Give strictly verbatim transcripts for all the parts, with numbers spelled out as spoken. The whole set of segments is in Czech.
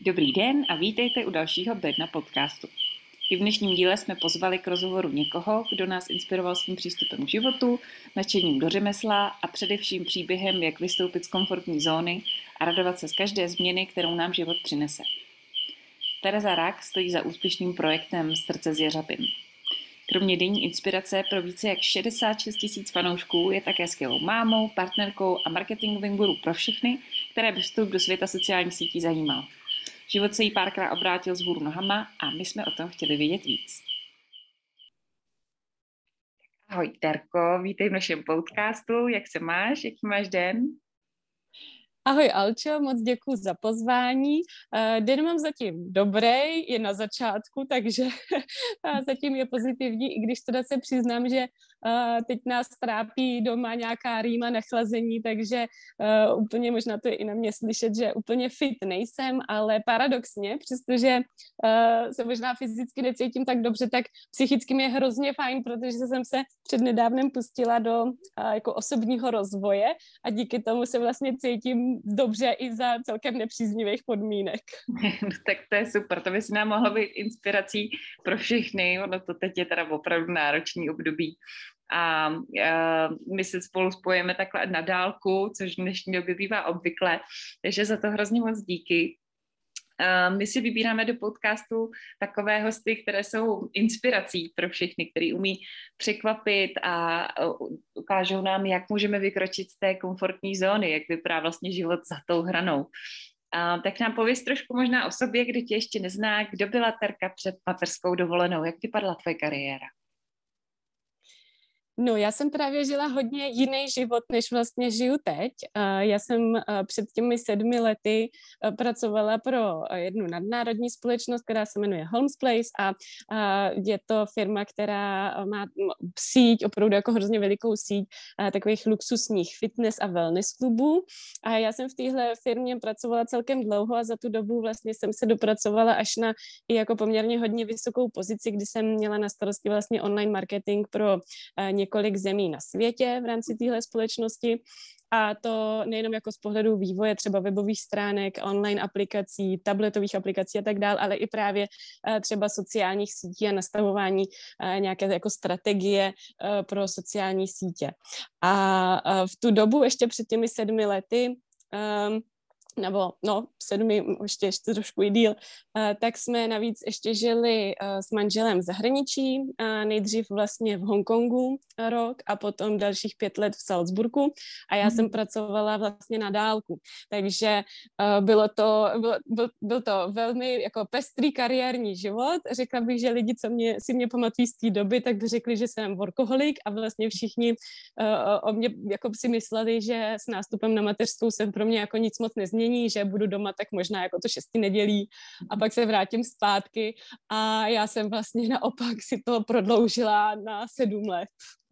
Dobrý den a vítejte u dalšího Bedna podcastu. I v dnešním díle jsme pozvali k rozhovoru někoho, kdo nás inspiroval svým přístupem k životu, nadšením do řemesla a především příběhem, jak vystoupit z komfortní zóny a radovat se z každé změny, kterou nám život přinese. Tereza Rak stojí za úspěšným projektem Srdce z Jeřabin. Kromě denní inspirace pro více jak šedesát šest tisíc fanoušků je také skvělou mámou, partnerkou a marketingovým guru pro všechny, které by vstup do světa sociálních sítí zajímal. Život se jí párkrát obrátil z hůru nohama a my jsme o tom chtěli vědět víc. Ahoj Terko, vítej v našem podcastu, jak se máš, jaký máš den? Ahoj Alčo, moc děkuji za pozvání. Den mám zatím dobrý, je na začátku, takže zatím je pozitivní, i když teda se přiznám, že teď nás trápí doma nějaká rýma nachlazení, takže úplně možná to je i na mě slyšet, že úplně fit nejsem, ale paradoxně, přestože se možná fyzicky necítím tak dobře, tak psychicky mi je hrozně fajn, protože jsem se přednedávnem pustila do jako osobního rozvoje a díky tomu se vlastně cítím dobře i za celkem nepříznivých podmínek. Tak to je super, to by si nám mohlo být inspirací pro všechny, ono to teď je teda opravdu náročný období. A uh, my se spolu spojíme takhle na dálku, což v dnešní době bývá obvykle, takže za to hrozně moc díky. Uh, my si vybíráme do podcastu takové hosty, které jsou inspirací pro všechny, který umí překvapit a uh, ukážou nám, jak můžeme vykročit z té komfortní zóny, jak vypadá vlastně život za tou hranou. Uh, tak nám pověz trošku možná o sobě, kdo tě ještě nezná, kdo byla Terka před mateřskou dovolenou, jak vypadala tvoje kariéra? No, já jsem právě žila hodně jiný život, než vlastně žiju teď. Já jsem před těmi sedmi lety pracovala pro jednu nadnárodní společnost, která se jmenuje Holmes Place a je to firma, která má síť, opravdu jako hrozně velikou síť takových luxusních fitness a wellness klubů. A já jsem v téhle firmě pracovala celkem dlouho a za tu dobu vlastně jsem se dopracovala až na i jako poměrně hodně vysokou pozici, kdy jsem měla na starosti vlastně online marketing pro několik zemí na světě v rámci téhle společnosti a to nejenom jako z pohledu vývoje třeba webových stránek, online aplikací, tabletových aplikací a tak dále, ale i právě třeba sociálních sítí a nastavování nějaké jako strategie pro sociální sítě. A v tu dobu ještě před těmi sedmi lety nebo no, sedmi, ještě, ještě trošku i díl, uh, tak jsme navíc ještě žili uh, s manželem v zahraničí, uh, nejdřív vlastně v Hongkongu rok a potom dalších pět let v Salzburgu a já mm. jsem pracovala vlastně na dálku, takže uh, bylo to, bylo, byl, byl to velmi jako pestrý kariérní život, řekla bych, že lidi, co mě, si mě pamatují z té doby, tak by řekli, že jsem workoholik a vlastně všichni uh, o mě jako si mysleli, že s nástupem na mateřskou jsem pro mě jako nic moc nezměnila, že budu doma tak možná jako to šesti nedělí a pak se vrátím zpátky a já jsem vlastně naopak si to prodloužila na sedm let.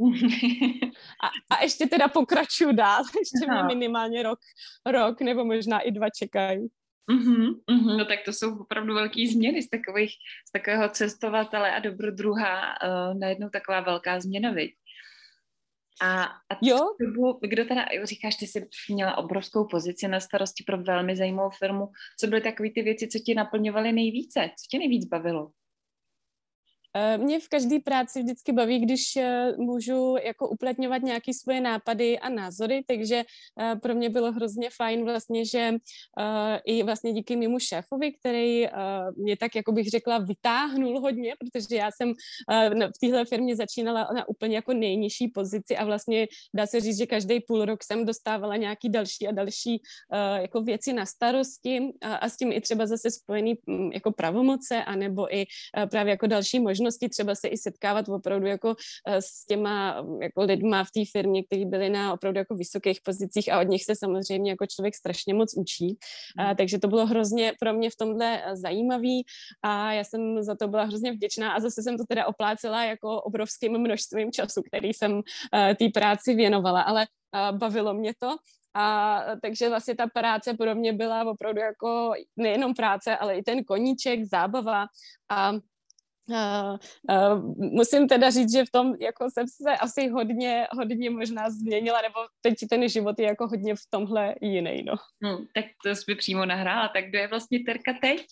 A, a ještě teda pokračuju dál, ještě mě minimálně rok, rok nebo možná i dva čekají. Uhum, uhum, no tak to jsou opravdu velký změny z takových, z takového cestovatele a dobrodruha uh, najednou taková velká změna, viď? A, a jo? Dobu, kdo teda, říkáš, ty jsi měla obrovskou pozici na starosti pro velmi zajímavou firmu, co byly takové ty věci, co tě naplňovaly nejvíce, co tě nejvíc bavilo? Mě v každé práci vždycky baví, když můžu jako uplatňovat nějaké svoje nápady a názory, takže pro mě bylo hrozně fajn vlastně, že i vlastně díky mému šéfovi, který mě tak, jako bych řekla, vytáhnul hodně, protože já jsem v téhle firmě začínala na úplně jako nejnižší pozici a vlastně dá se říct, že každý půl rok jsem dostávala nějaký další a další jako věci na starosti a s tím i třeba zase spojený jako pravomoce anebo i právě jako další možnosti možnosti třeba se i setkávat opravdu jako s těma jako lidma v té firmě, kteří byli na opravdu jako vysokých pozicích a od nich se samozřejmě jako člověk strašně moc učí. Mm. A, takže to bylo hrozně pro mě v tomhle zajímavý a já jsem za to byla hrozně vděčná a zase jsem to teda oplácela jako obrovským množstvím času, který jsem té práci věnovala, ale bavilo mě to. A takže vlastně ta práce pro mě byla opravdu jako nejenom práce, ale i ten koníček, zábava a Uh, uh, musím teda říct, že v tom jako jsem se asi hodně, hodně možná změnila, nebo teď ten život je jako hodně v tomhle jiný, no. Hmm, tak to jsi by přímo nahrála. Tak kdo je vlastně Terka teď?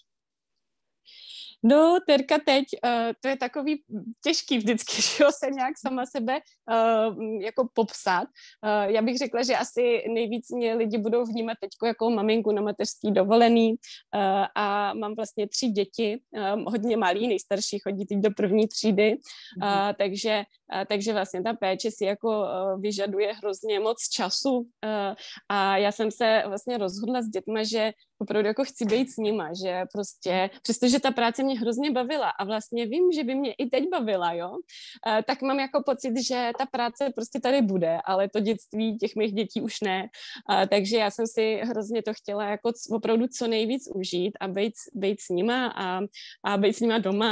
No, Terka teď, uh, to je takový těžký vždycky, že jo, se nějak sama sebe uh, jako popsat. Uh, já bych řekla, že asi nejvíc mě lidi budou vnímat teďko jako maminku na mateřský dovolený uh, a mám vlastně tři děti, um, hodně malý, nejstarší chodí teď do první třídy, uh, takže, uh, takže vlastně ta péče si jako uh, vyžaduje hrozně moc času uh, a já jsem se vlastně rozhodla s dětma, že opravdu jako chci být s nima, že prostě, přestože ta práce mě hrozně bavila a vlastně vím, že by mě i teď bavila, jo, e, tak mám jako pocit, že ta práce prostě tady bude, ale to dětství těch mých dětí už ne, e, takže já jsem si hrozně to chtěla jako opravdu co nejvíc užít a být, být s nima a, a být s nima doma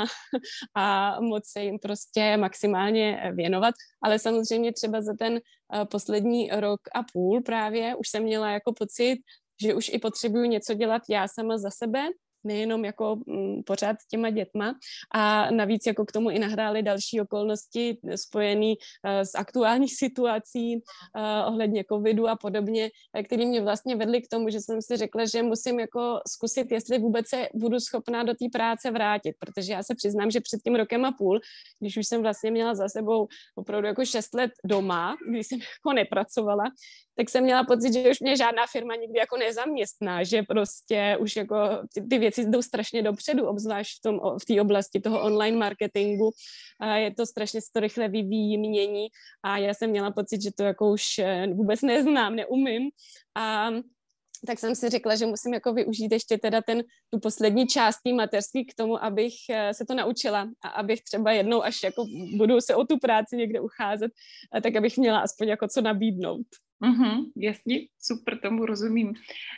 a moc se jim prostě maximálně věnovat, ale samozřejmě třeba za ten uh, poslední rok a půl právě už jsem měla jako pocit, že už i potřebuju něco dělat já sama za sebe, nejenom jako m, pořád s těma dětma a navíc jako k tomu i nahrály další okolnosti spojené uh, s aktuální situací uh, ohledně covidu a podobně, které mě vlastně vedly k tomu, že jsem si řekla, že musím jako zkusit, jestli vůbec se budu schopná do té práce vrátit, protože já se přiznám, že před tím rokem a půl, když už jsem vlastně měla za sebou opravdu jako šest let doma, když jsem jako nepracovala, tak jsem měla pocit, že už mě žádná firma nikdy jako nezaměstná, že prostě už jako ty, ty věci jdou strašně dopředu, obzvlášť v tom, v té oblasti toho online marketingu. A je to strašně se to rychle vyvíjí, mění a já jsem měla pocit, že to jako už vůbec neznám, neumím a tak jsem si řekla, že musím jako využít ještě teda ten, tu poslední část té mateřský k tomu, abych se to naučila a abych třeba jednou, až jako budu se o tu práci někde ucházet, tak abych měla aspoň jako co nabídnout. Mm-hmm, jasně, super, tomu rozumím.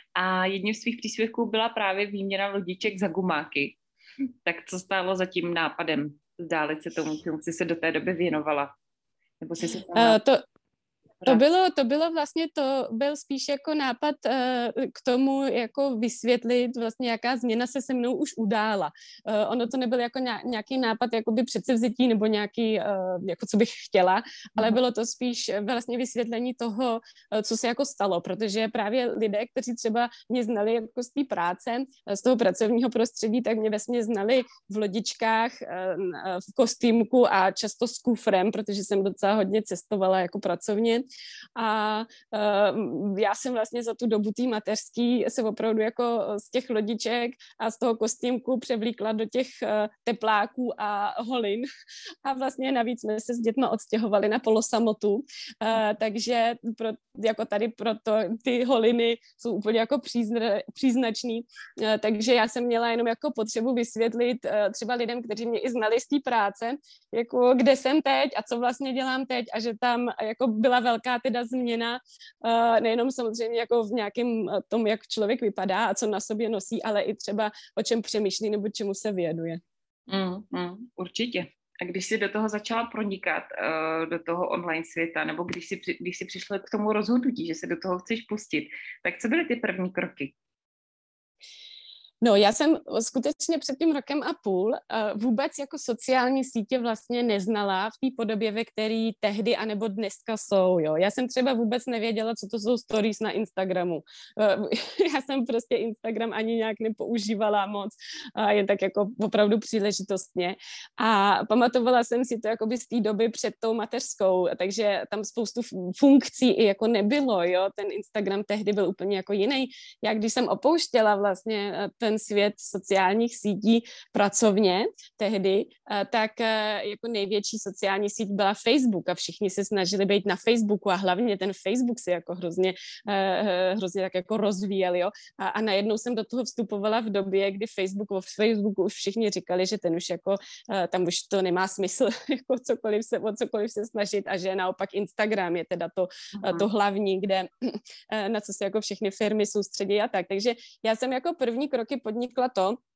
A jedním z svých příspěvků byla právě výměna lodiček za gumáky. Tak co stálo za tím nápadem vzdálit se tomu, čemu jsi se do té doby věnovala? Nebo jsi se uh, to... To bylo, to bylo vlastně, to byl spíš jako nápad uh, k tomu jako vysvětlit vlastně, jaká změna se se mnou už udála. Uh, ono to nebyl jako nějaký nápad jakoby předsevzetí nebo nějaký, uh, jako co bych chtěla, ale bylo to spíš vlastně vysvětlení toho, uh, co se jako stalo, protože právě lidé, kteří třeba mě znali jako z té práce, z toho pracovního prostředí, tak mě vesmě znali v lodičkách, uh, v kostýmku a často s kufrem, protože jsem docela hodně cestovala jako pracovně. A uh, já jsem vlastně za tu dobu té mateřský se opravdu jako z těch lodiček a z toho kostýmku převlíkla do těch uh, tepláků a holin a vlastně navíc jsme se s dětma odstěhovali na polosamotu, uh, takže pro, jako tady proto ty holiny jsou úplně jako přízna, příznačný, uh, takže já jsem měla jenom jako potřebu vysvětlit uh, třeba lidem, kteří mě i znali z té práce, jako kde jsem teď a co vlastně dělám teď a že tam jako byla velká teda změna, uh, nejenom samozřejmě jako v nějakém tom, jak člověk vypadá a co na sobě nosí, ale i třeba o čem přemýšlí nebo čemu se věnuje. Mm, mm, určitě. A když jsi do toho začala pronikat, uh, do toho online světa, nebo když jsi, když jsi přišla k tomu rozhodnutí, že se do toho chceš pustit, tak co byly ty první kroky? No, já jsem skutečně před tím rokem a půl uh, vůbec jako sociální sítě vlastně neznala v té podobě, ve které tehdy anebo dneska jsou, jo. Já jsem třeba vůbec nevěděla, co to jsou stories na Instagramu. Uh, já jsem prostě Instagram ani nějak nepoužívala moc, uh, jen tak jako opravdu příležitostně. A pamatovala jsem si to jakoby z té doby před tou mateřskou, takže tam spoustu funkcí i jako nebylo, jo. Ten Instagram tehdy byl úplně jako jiný. Já když jsem opouštěla vlastně ten ten svět sociálních sítí pracovně tehdy, tak jako největší sociální síť byla Facebook a všichni se snažili být na Facebooku a hlavně ten Facebook se jako hrozně, hrozně tak jako rozvíjel, jo. A, a najednou jsem do toho vstupovala v době, kdy Facebook, o Facebooku už všichni říkali, že ten už jako, tam už to nemá smysl jako cokoliv se, o cokoliv se snažit a že naopak Instagram je teda to, uh-huh. to hlavní, kde, na co se jako všechny firmy soustředí a tak. Takže já jsem jako první kroky podnikla to,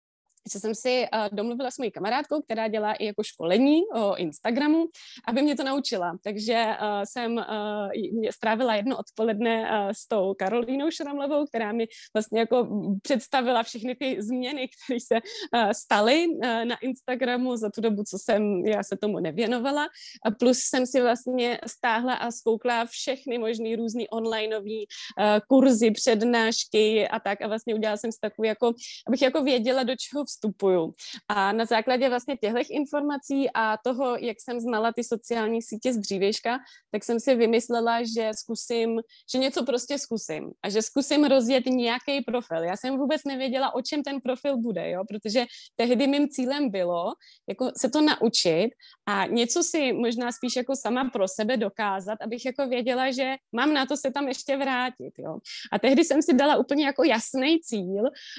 že jsem si uh, domluvila s mojí kamarádkou, která dělá i jako školení o Instagramu, aby mě to naučila. Takže uh, jsem uh, strávila jedno odpoledne uh, s tou Karolínou Šramlovou, která mi vlastně jako představila všechny ty změny, které se uh, staly uh, na Instagramu za tu dobu, co jsem já se tomu nevěnovala. A plus jsem si vlastně stáhla a zkoukla všechny možný různý onlineový uh, kurzy, přednášky a tak. A vlastně udělala jsem si takový jako, abych jako věděla, do čeho vstupuju. A na základě vlastně těchto informací a toho, jak jsem znala ty sociální sítě z dřívějška, tak jsem si vymyslela, že zkusím, že něco prostě zkusím a že zkusím rozjet nějaký profil. Já jsem vůbec nevěděla, o čem ten profil bude, jo, protože tehdy mým cílem bylo jako se to naučit a něco si možná spíš jako sama pro sebe dokázat, abych jako věděla, že mám na to se tam ještě vrátit, jo. A tehdy jsem si dala úplně jako jasný cíl,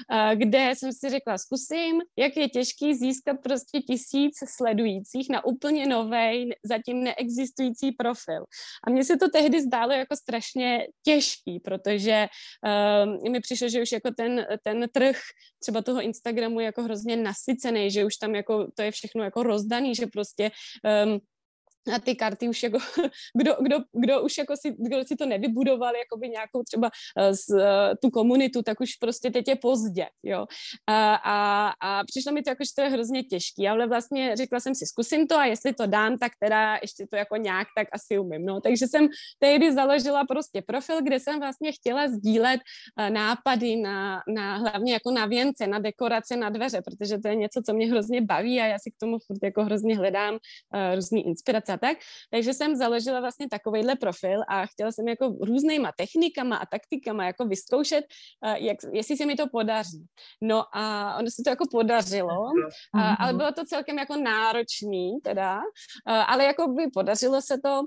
kde jsem si řekla, zkusím, jak je těžký získat prostě tisíc sledujících na úplně novej, zatím neexistující profil. A mně se to tehdy zdálo jako strašně těžký, protože uh, mi přišlo, že už jako ten, ten trh třeba toho Instagramu je jako hrozně nasycený, že už tam jako to je všechno jako rozdaný, že prostě um, a ty karty už jako, kdo, kdo, kdo už jako si, kdo si to nevybudoval, jakoby nějakou třeba z, tu komunitu, tak už prostě teď je pozdě, jo. A, a, a přišlo mi to jako, že to je hrozně těžký, ale vlastně řekla jsem si, zkusím to a jestli to dám, tak teda ještě to jako nějak tak asi umím, no. Takže jsem tehdy založila prostě profil, kde jsem vlastně chtěla sdílet nápady na, na hlavně jako na věnce, na dekorace, na dveře, protože to je něco, co mě hrozně baví a já si k tomu furt jako hrozně hledám uh, různý inspirace. Tak. Takže jsem založila vlastně takovejhle profil a chtěla jsem jako různýma technikama a taktikama jako vyzkoušet, jak, jestli se mi to podaří. No a ono se to jako podařilo, a, ale bylo to celkem jako náročný teda, ale jako by podařilo se to.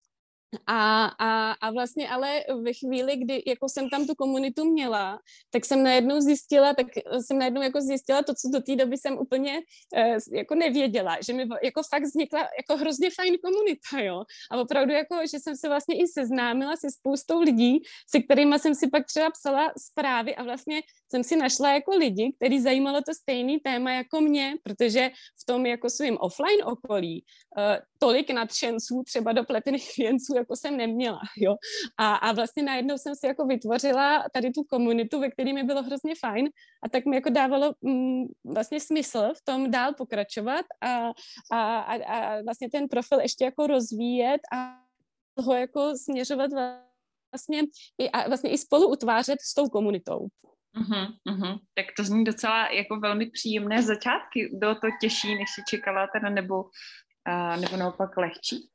A, a, a vlastně ale ve chvíli, kdy jako jsem tam tu komunitu měla, tak jsem najednou zjistila, tak jsem najednou jako zjistila to, co do té doby jsem úplně eh, jako nevěděla, že mi jako fakt vznikla jako hrozně fajn komunita, jo. A opravdu jako, že jsem se vlastně i seznámila se spoustou lidí, se kterými jsem si pak třeba psala zprávy a vlastně jsem si našla jako lidi, který zajímalo to stejný téma jako mě, protože v tom jako svým offline okolí uh, tolik nadšenců třeba do pletených věnců jako jsem neměla, jo. A, a vlastně najednou jsem si jako vytvořila tady tu komunitu, ve které mi bylo hrozně fajn a tak mi jako dávalo mm, vlastně smysl v tom dál pokračovat a, a, a, a vlastně ten profil ještě jako rozvíjet a ho jako směřovat vlastně i, a vlastně i spolu utvářet s tou komunitou. Uhum, uhum. Tak to zní docela jako velmi příjemné začátky. Bylo to těžší, než si čekala teda, nebo, uh, nebo naopak lehčí?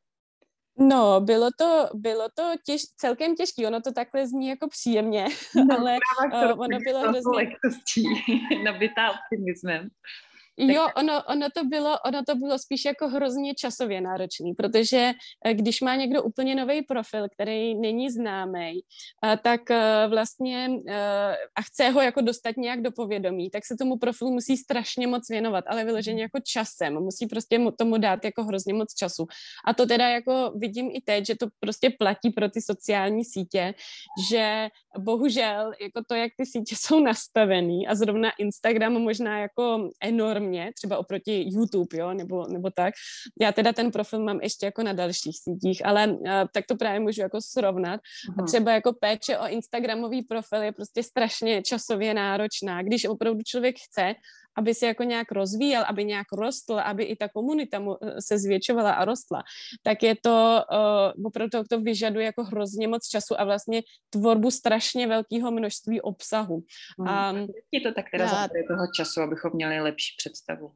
No, bylo to, bylo to těž, celkem těžké, ono to takhle zní jako příjemně, no, ale uh, ono bylo hrozně... lehkostí, nabitá optimismem. Jo, ono, ono, to bylo, ono to bylo spíš jako hrozně časově náročný, protože když má někdo úplně nový profil, který není známý, tak vlastně a chce ho jako dostat nějak do povědomí, tak se tomu profilu musí strašně moc věnovat, ale vyloženě jako časem, musí prostě tomu dát jako hrozně moc času. A to teda jako vidím i teď, že to prostě platí pro ty sociální sítě, že bohužel jako to, jak ty sítě jsou nastavený a zrovna Instagram možná jako enormně, třeba oproti YouTube, jo, nebo, nebo tak. Já teda ten profil mám ještě jako na dalších sítích, ale uh, tak to právě můžu jako srovnat. Uh-huh. A třeba jako péče o Instagramový profil je prostě strašně časově náročná. Když opravdu člověk chce, aby se jako nějak rozvíjel, aby nějak rostl, aby i ta komunita mu se zvětšovala a rostla, tak je to uh, opravdu to vyžaduje jako hrozně moc času a vlastně tvorbu strašně velkého množství obsahu. Hmm. Um, je to tak teda zabere toho času, abychom měli lepší představu?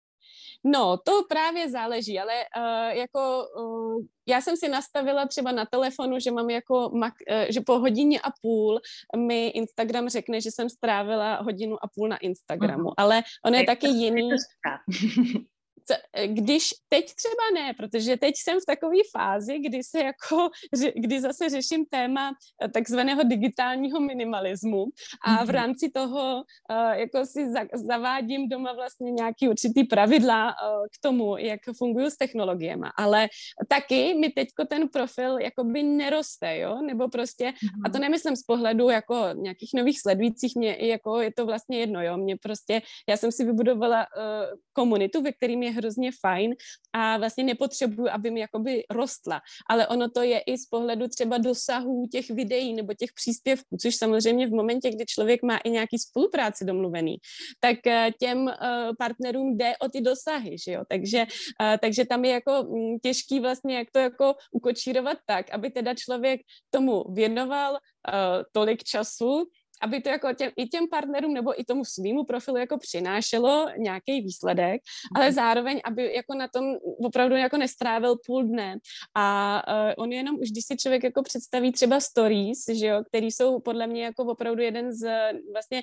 No, to právě záleží, ale uh, jako uh, já jsem si nastavila třeba na telefonu, že mám jako, mak, uh, že po hodině a půl mi Instagram řekne, že jsem strávila hodinu a půl na Instagramu, uh-huh. ale on je taky jiný. co, když teď třeba ne, protože teď jsem v takové fázi, kdy se jako, kdy zase řeším téma takzvaného digitálního minimalismu a v rámci toho jako si zavádím doma vlastně nějaký určitý pravidla k tomu, jak fungují s technologiemi, ale taky mi teďko ten profil jakoby neroste, jo, nebo prostě, a to nemyslím z pohledu jako nějakých nových sledujících, mě jako je to vlastně jedno, jo, mě prostě, já jsem si vybudovala uh, komunitu, ve kterým je hrozně fajn a vlastně nepotřebuju, aby mi jakoby rostla, ale ono to je i z pohledu třeba dosahů těch videí nebo těch příspěvků, což samozřejmě v momentě, kdy člověk má i nějaký spolupráci domluvený, tak uh, těm uh, partnerům jde o ty dosahy, že jo, takže, uh, takže tam je jako um, těžký vlastně, jak to jako ukočírovat tak, aby teda člověk tomu věnoval uh, tolik času, aby to jako těm, i těm partnerům nebo i tomu svýmu profilu jako přinášelo nějaký výsledek, ale zároveň, aby jako na tom opravdu jako nestrávil půl dne. A uh, on jenom už, když si člověk jako představí třeba stories, že jo, který jsou podle mě jako opravdu jeden z vlastně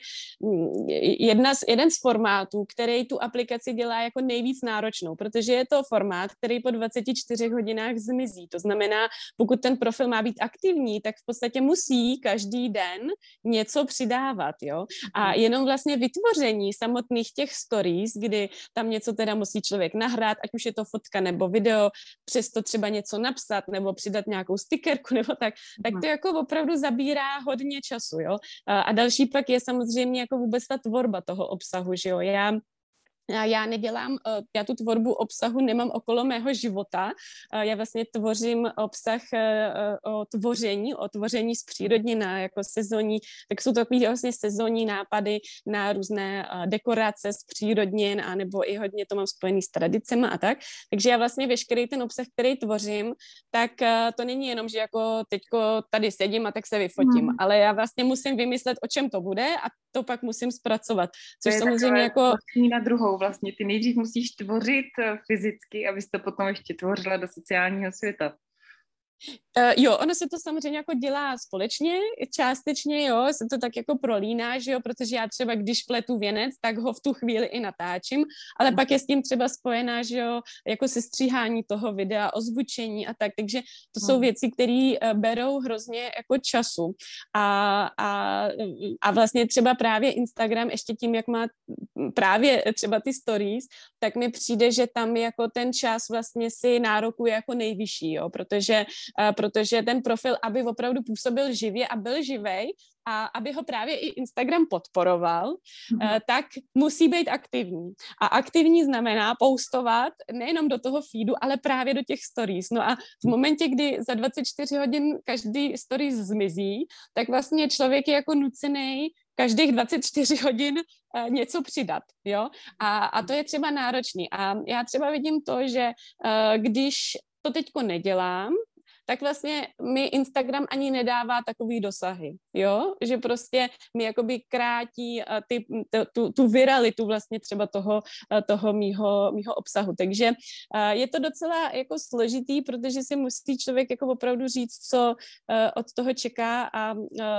jedna z, jeden z formátů, který tu aplikaci dělá jako nejvíc náročnou, protože je to formát, který po dvaceti čtyřech hodinách zmizí. To znamená, pokud ten profil má být aktivní, tak v podstatě musí každý den něco přidávat, jo. A jenom vlastně vytvoření samotných těch stories, kdy tam něco teda musí člověk nahrát, ať už je to fotka nebo video, přesto třeba něco napsat nebo přidat nějakou stickerku nebo tak, tak to jako opravdu zabírá hodně času, jo. A další pak je samozřejmě jako vůbec ta tvorba toho obsahu, že jo. Já Já nedělám, já tu tvorbu obsahu nemám okolo mého života. Já vlastně tvořím obsah o tvoření, o tvoření z přírodnina, jako sezónní, tak jsou to takový vlastně sezónní nápady na různé dekorace z přírodnin, anebo i hodně to mám spojený s tradicemi a tak. Takže já vlastně veškerý ten obsah, který tvořím, tak to není jenom, že jako teďko tady sedím a tak se vyfotím, hmm. ale já vlastně musím vymyslet, o čem to bude a to pak musím zpracovat. Což samozřejmě jako... na druhou vlastně. Ty nejdřív musíš tvořit fyzicky, abys to potom ještě tvořila do sociálního světa. Uh, jo, ono se to samozřejmě jako dělá společně, částečně, jo, se to tak jako prolíná, že jo, protože já třeba, když pletu věnec, tak ho v tu chvíli i natáčím, ale pak je s tím třeba spojená, že jo, jako sestříhání toho videa, ozvučení a tak, takže to jsou věci, které uh, berou hrozně jako času a, a, a vlastně třeba právě Instagram ještě tím, jak má právě třeba ty stories, tak mi přijde, že tam jako ten čas vlastně si nárokuje jako nejvyšší, jo, protože protože ten profil, aby opravdu působil živě a byl živej a aby ho právě i Instagram podporoval, mm. tak musí být aktivní. A aktivní znamená postovat nejenom do toho feedu, ale právě do těch stories. No a v momentě, kdy za dvacet čtyři hodin každý stories zmizí, tak vlastně člověk je jako nucený každých dvacet čtyři hodin uh, něco přidat, jo? A, a to je třeba náročný. A já třeba vidím to, že uh, když to teďko nedělám, tak vlastně mi Instagram ani nedává takový dosahy, jo, že prostě mi jakoby krátí ty, tu, tu viralitu vlastně třeba toho, toho mýho, mýho obsahu, takže je to docela jako složitý, protože si musí člověk jako opravdu říct, co od toho čeká a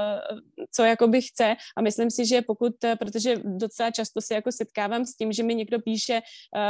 co jakoby chce a myslím si, že pokud, protože docela často se jako setkávám s tím, že mi někdo píše,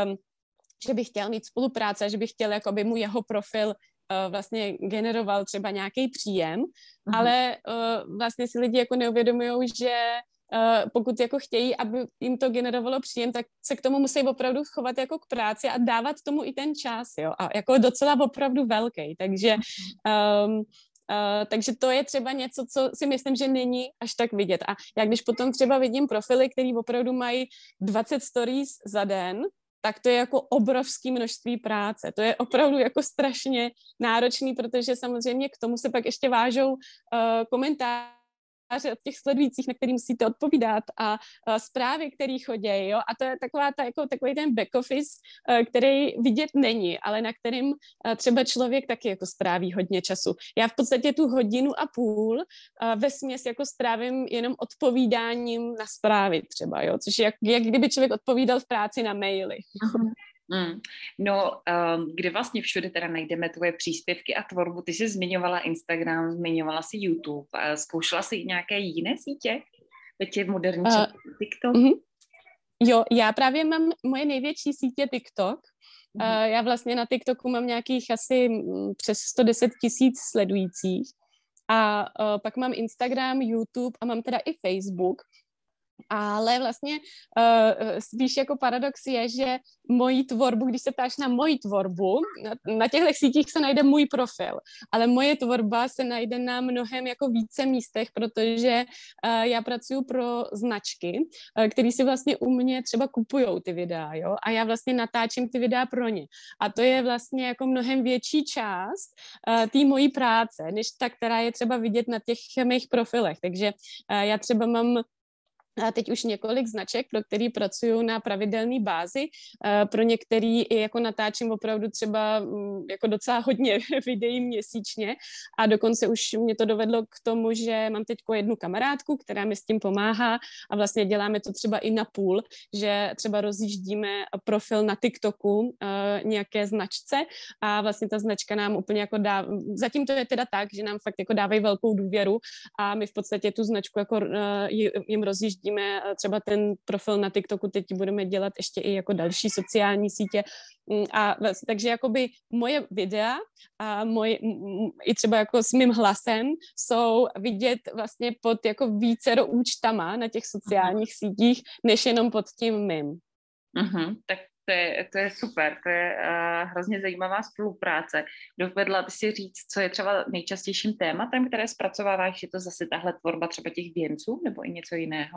že by chtěl mít spolupráce, že by chtěl, jako aby mu jeho profil vlastně generoval třeba nějaký příjem, uh-huh. ale uh, vlastně si lidi jako neuvědomují, že uh, pokud jako chtějí, aby jim to generovalo příjem, tak se k tomu musí opravdu chovat jako k práci a dávat tomu i ten čas, jo, a jako docela opravdu velký, takže um, Uh, takže to je třeba něco, co si myslím, že není až tak vidět. A já když potom třeba vidím profily, který opravdu mají dvacet stories za den, tak to je jako obrovské množství práce. To je opravdu jako strašně náročný, protože samozřejmě k tomu se pak ještě vážou uh, komentáře od těch sledujících, na který musíte odpovídat a uh, zprávy, které chodí, jo, a to je taková ta, jako takový ten back office, uh, který vidět není, ale na kterým uh, třeba člověk taky jako stráví hodně času. Já v podstatě tu hodinu a půl uh, vesměs jako strávím jenom odpovídáním na zprávy třeba, jo, což je jak, jak kdyby člověk odpovídal v práci na maily. Mm. No, um, kde vlastně všude teda najdeme tvoje příspěvky a tvorbu? Ty jsi zmiňovala Instagram, zmiňovala si YouTube, a zkoušela jsi i nějaké jiné sítě? Teď je moderní uh, TikTok? Uh-huh. Jo, já právě mám, moje největší sítě TikTok. Mhm. Uh, já vlastně na TikToku mám nějakých asi mm, přes sto deset tisíc sledujících. A uh, pak mám Instagram, YouTube a mám teda i Facebook. Ale vlastně uh, spíš jako paradox je, že moji tvorbu, když se ptáš na moji tvorbu, na, na těchto sítích se najde můj profil, ale moje tvorba se najde na mnohem jako více místech, protože uh, já pracuji pro značky, uh, které si vlastně u mě třeba kupujou ty videa, jo, a já vlastně natáčím ty videa pro ně. A to je vlastně jako mnohem větší část uh, té mojí práce, než ta, která je třeba vidět na těch mých profilech. Takže uh, já třeba mám a teď už několik značek, pro který pracuju na pravidelné bázi. Pro některý i jako natáčím opravdu třeba jako docela hodně videí měsíčně a dokonce už mě to dovedlo k tomu, že mám teď jednu kamarádku, která mi s tím pomáhá a vlastně děláme to třeba i na půl, že třeba rozjíždíme profil na TikToku nějaké značce a vlastně ta značka nám úplně jako dá, zatím to je teda tak, že nám fakt jako dávají velkou důvěru a my v podstatě tu značku jako jim rozjíždíme třeba ten profil na TikToku, teď budeme dělat ještě i jako další sociální sítě. A vlastně, takže jakoby moje videa a moje, i třeba jako s mým hlasem jsou vidět vlastně pod jako vícero účtama na těch sociálních sítích, než jenom pod tím mým. Uh-huh. Tak to je, to je super, to je uh, hrozně zajímavá spolupráce. Dovedla by si říct, co je třeba nejčastějším tématem, které zpracováváš? Je to zase tahle tvorba třeba těch věnců nebo i něco jiného?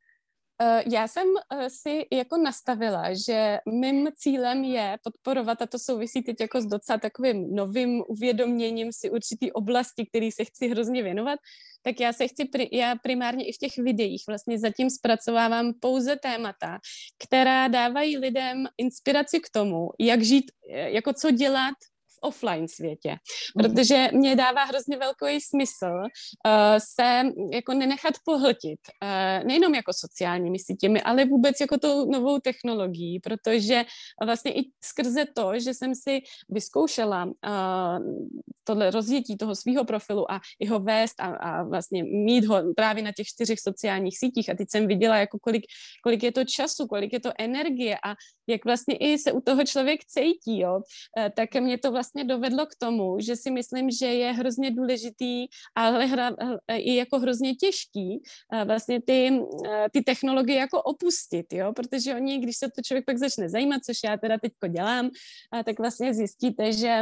Já jsem si jako nastavila, že mým cílem je podporovat, a to souvisí teď jako s docela takovým novým uvědoměním si určitý oblasti, který se chci hrozně věnovat, tak já se chci, já primárně i v těch videích vlastně zatím zpracovávám pouze témata, která dávají lidem inspiraci k tomu, jak žít, jako co dělat v offline světě, protože mě dává hrozně velký smysl uh, se jako nenechat pohltit, uh, nejenom jako sociálními sítěmi, ale vůbec jako tou novou technologií, protože vlastně i skrze to, že jsem si vyzkoušela uh, tohle rozjetí toho svýho profilu a jeho vést a, a vlastně mít ho právě na těch čtyřech sociálních sítích a teď jsem viděla, jako kolik, kolik je to času, kolik je to energie a jak vlastně i se u toho člověk cítí, jo, uh, tak mě to vlastně dovedlo k tomu, že si myslím, že je hrozně důležitý, ale hra, i jako hrozně těžký vlastně ty, ty technologie jako opustit, jo, protože oni, když se to člověk pak začne zajímat, což já teda teďko dělám, tak vlastně zjistíte, že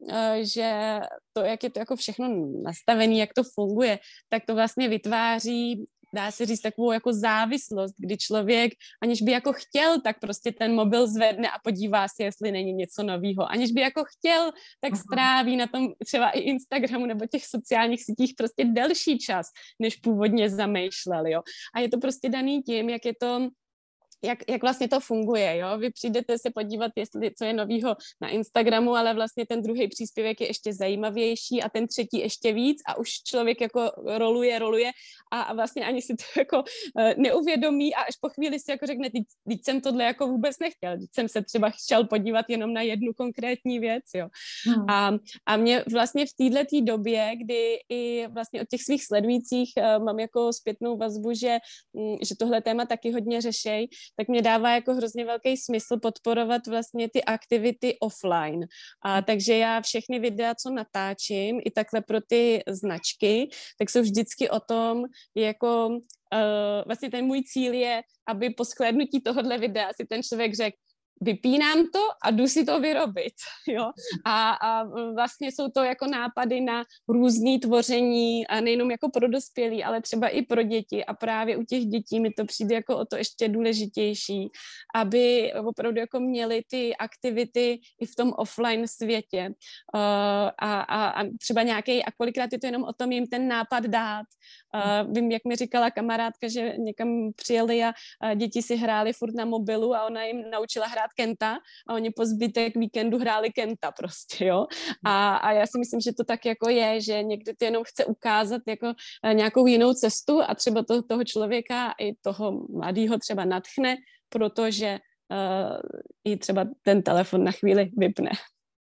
že to, jak je to jako všechno nastavené, jak to funguje, tak to vlastně vytváří, dá se říct, takovou jako závislost, kdy člověk, aniž by jako chtěl, tak prostě ten mobil zvedne a podívá se, jestli není něco novýho. Aniž by jako chtěl, tak stráví na tom třeba i Instagramu nebo těch sociálních sítích prostě delší čas, než původně zamýšlel, jo. A je to prostě daný tím, jak je to Jak, jak vlastně to funguje, jo? Vy přijdete se podívat, jestli co je novýho na Instagramu, ale vlastně ten druhý příspěvek je ještě zajímavější a ten třetí ještě víc a už člověk jako roluje, roluje a, a vlastně ani si to jako uh, neuvědomí a až po chvíli si jako řekne, teď, teď jsem tohle jako vůbec nechtěl, teď jsem se třeba chtěl podívat jenom na jednu konkrétní věc, jo. Hmm. A, a mě vlastně v této době, kdy i vlastně od těch svých sledujících uh, mám jako zpětnou vazbu, že, um, že tohle téma taky hodně řešej, tak mě dává jako hrozně velký smysl podporovat vlastně ty aktivity offline. A takže já všechny videa, co natáčím, i takhle pro ty značky, tak jsou vždycky o tom, jako uh, vlastně ten můj cíl je, aby po shlédnutí tohohle videa si ten člověk řekl, vypínám to a jdu si to vyrobit, jo. A, a vlastně jsou to jako nápady na různý tvoření a nejenom jako pro dospělí, ale třeba i pro děti a právě u těch dětí mi to přijde jako o to ještě důležitější, aby opravdu jako měli ty aktivity i v tom offline světě uh, a, a, a třeba nějaký, a kolikrát je to jenom o tom jim ten nápad dát. Uh, vím, jak mi říkala kamarádka, že někam přijeli a, a děti si hráli furt na mobilu a ona jim naučila hrát Kenta a oni po zbytek víkendu hráli Kenta prostě, jo. A, a já si myslím, že to tak jako je, že někdy to jenom chce ukázat jako nějakou jinou cestu a třeba to, toho člověka i toho mladýho třeba nadchne, protože uh, i třeba ten telefon na chvíli vypne.